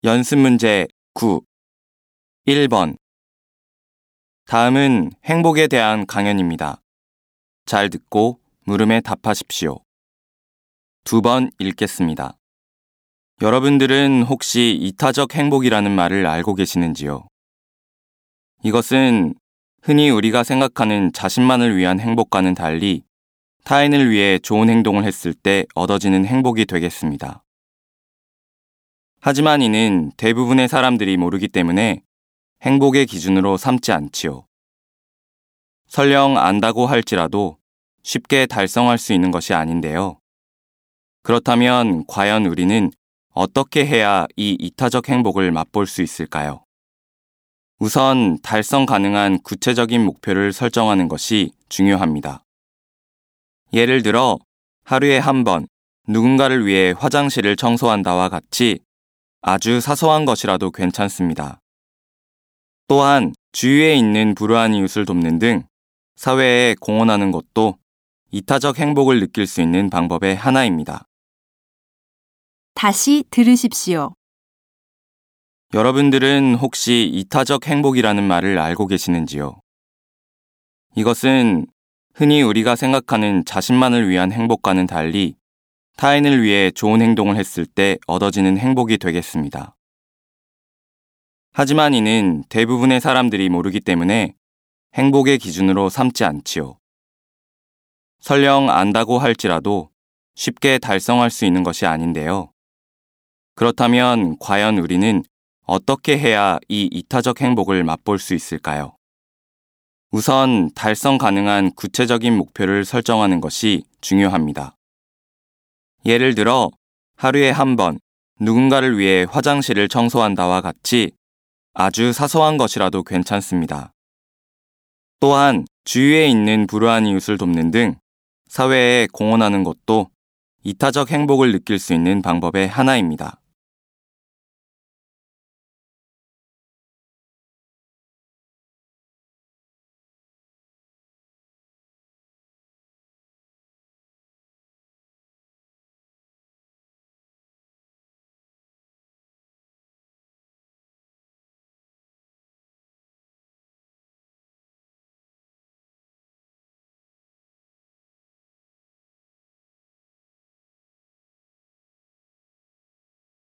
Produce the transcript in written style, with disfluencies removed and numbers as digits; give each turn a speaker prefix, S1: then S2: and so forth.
S1: 연습 문제 9. 1번. 다음은 행복에 대한 강연입니다. 잘 듣고 물음에 답하십시오. 2번 읽겠습니다. 여러분들은 혹시 이타적 행복이라는 말을 알고 계시는지요? 이것은 흔히 우리가 생각하는 자신만을 위한 행복과는 달리 타인을 위해 좋은 행동을 했을 때 얻어지는 행복이 되겠습니다. 하지만 이는 대부분의 사람들이 모르기 때문에 행복의 기준으로 삼지 않지요. 설령 안다고 할지라도 쉽게 달성할 수 있는 것이 아닌데요. 그렇다면 과연 우리는 어떻게 해야 이 이타적 행복을 맛볼 수 있을까요? 우선 달성 가능한 구체적인 목표를 설정하는 것이 중요합니다. 예를 들어 하루에 한 번 누군가를 위해 화장실을 청소한다와 같이 아주 사소한 것이라도 괜찮습니다. 또한 주위에 있는 불우한 이웃을 돕는 등 사회에 공헌하는 것도 이타적 행복을 느낄 수 있는 방법의 하나입니다.
S2: 다시 들으십시오.
S1: 여러분들은 혹시 이타적 행복이라는 말을 알고 계시는지요? 이것은 흔히 우리가 생각하는 자신만을 위한 행복과는 달리 타인을 위해 좋은 행동을 했을 때 얻어지는 행복이 되겠습니다. 하지만 이는 대부분의 사람들이 모르기 때문에 행복의 기준으로 삼지 않지요. 설령 안다고 할지라도 쉽게 달성할 수 있는 것이 아닌데요. 그렇다면 과연 우리는 어떻게 해야 이 이타적 행복을 맛볼 수 있을까요? 우선 달성 가능한 구체적인 목표를 설정하는 것이 중요합니다. 예를 들어 하루에 한 번 누군가를 위해 화장실을 청소한다와 같이 아주 사소한 것이라도 괜찮습니다. 또한 주위에 있는 불우한 이웃을 돕는 등 사회에 공헌하는 것도 이타적 행복을 느낄 수 있는 방법의 하나입니다.